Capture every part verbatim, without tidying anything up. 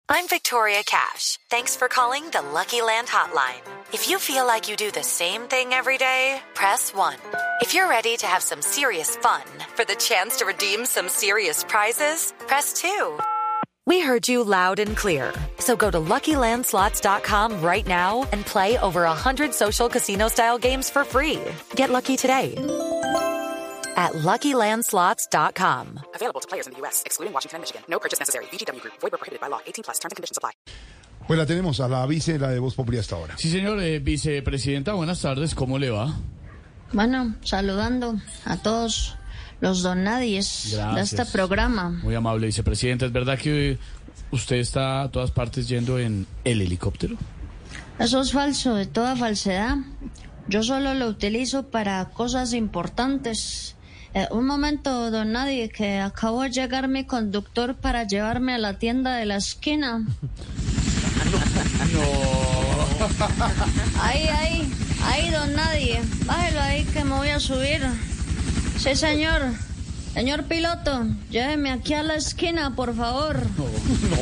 I'm Victoria Cash. Thanks for calling the Lucky Land Hotline. If you feel like you do the same thing every day, press one. If you're ready to have some serious fun for the chance to redeem some serious prizes, press two. We heard you loud and clear. So go to Lucky Land Slots dot com right now and play over one hundred social casino-style games for free. Get lucky today at Lucky Land Slots dot com. Available to players in the U S, excluding Washington and Michigan. No purchase necessary. V G W Group. Void where prohibited by law. eighteen plus. Terms and conditions apply. Pues la tenemos a la vice, la de Voz Populi hasta ahora. Sí, señor, eh, vicepresidenta, buenas tardes, ¿cómo le va? Bueno, saludando a todos los don nadies Gracias. de este programa. Muy amable, vicepresidenta. ¿Es verdad que usted está a todas partes yendo en el helicóptero? Eso es falso, de toda falsedad. Yo solo lo utilizo para cosas importantes. Eh, un momento, don Nadie, que acabo de llegar mi conductor para llevarme a la tienda de la esquina. No. Ahí, ahí, ahí, don Nadie. Bájelo ahí que me voy a subir. Sí, señor. Señor piloto, lléveme aquí a la esquina, por favor. No, no.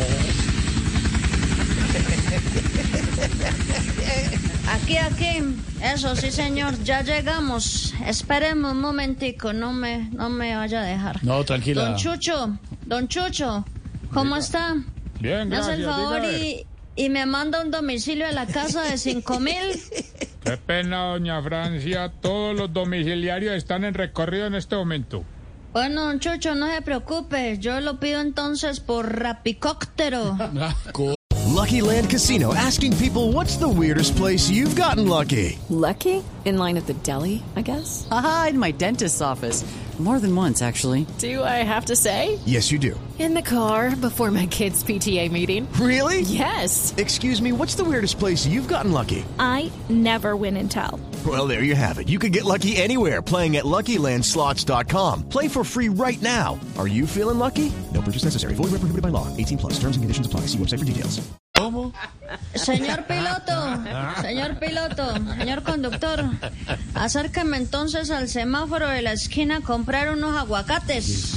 Aquí, aquí. Eso, sí, señor. Ya llegamos. Espéreme un momentico. No me, no me vaya a dejar. No, tranquila. Don Chucho, don Chucho, ¿cómo está? Bien, Me hace gracias. el favor y, y me manda un domicilio a la casa de cinco mil. Qué pena, doña Francia. Todos los domiciliarios están en recorrido en este momento. Bueno, don Chucho, no se preocupe. Yo lo pido entonces por rapicóptero. Lucky Land Casino, asking people, what's the weirdest place you've gotten lucky? Lucky? In line at the deli, I guess? Aha, in my dentist's office. More than once, actually. Do I have to say? Yes, you do. In the car before my kids' P T A meeting. Really? Yes. Excuse me, what's the weirdest place you've gotten lucky? I never win and tell. Well, there you have it. You can get lucky anywhere, playing at Lucky Land Slots dot com. Play for free right now. Are you feeling lucky? No purchase necessary. Void where prohibited by law. eighteen plus. Terms and conditions apply. See website for details. ¿Cómo? Señor piloto, señor piloto, señor conductor, acérqueme entonces al semáforo de la esquina a comprar unos aguacates.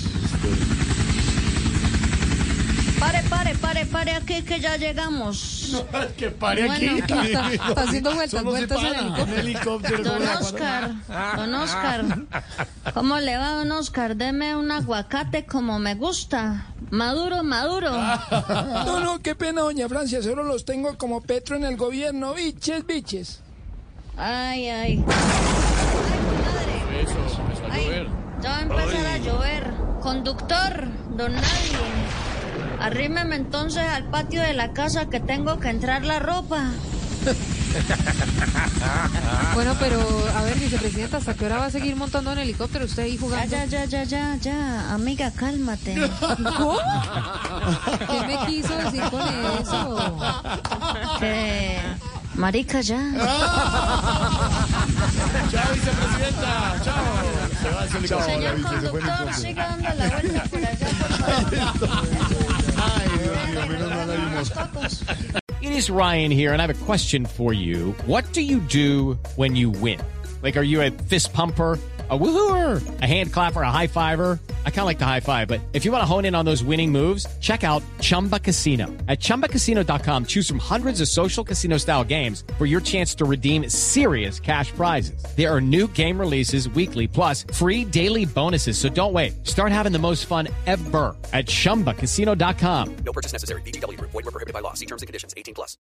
Pare, pare, pare, pare aquí que ya llegamos. No, que pare Bueno, aquí. está- está haciendo vueltas, Solo se vueltas en para. helicóptero. En helicóptero. Don ¿cómo la para? Oscar, don Oscar, ¿cómo le va, don Oscar? Deme un aguacate como me gusta, maduro, maduro. No, no, qué pena, doña Francia, solo los tengo como Petro en el gobierno, biches, biches. Ay, ay. Ay, madre. Eso, empezó a Ay, llover. ya va a empezar a llover. Conductor, don Nadie, arrímeme entonces al patio de la casa que tengo que entrar la ropa. Bueno, pero, a ver, vicepresidenta, ¿hasta qué hora va a seguir montando en helicóptero usted ahí Ya, jugando? ya, ya, ya, ya, ya, amiga, cálmate. ¿Cómo? ¿Qué me quiso decir con eso? Que... Marica, ya. Chao, vicepresidenta. Chao. Se va ese helicóptero. Señor vice, se fue en conductor, entonces. siga dando la vuelta por allá, por favor. Ay, Dios mío, menos mal hay Los unos- tacos. It is Ryan here, and I have a question for you. What do you do when you win? Like, are you a fist pumper, a woohooer, a hand clapper, a high fiver? I kind of like the high five, but if you want to hone in on those winning moves, check out Chumba Casino. At chumba casino dot com, choose from hundreds of social casino-style games for your chance to redeem serious cash prizes. There are new game releases weekly, plus free daily bonuses. So don't wait. Start having the most fun ever at chumba casino dot com. No purchase necessary. V G W Group. Void where prohibited by law. See terms and conditions. eighteen plus.